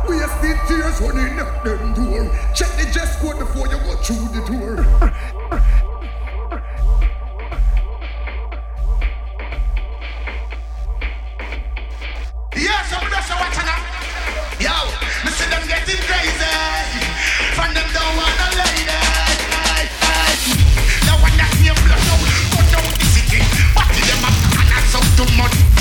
Wasted tears when you knock them door. Check the dress code before you go through the door. Yeah, some of us are watching now. Yo, me see them getting crazy. From them don't want a lady. No one that name blood out, go down the city. But them up and that's out too much.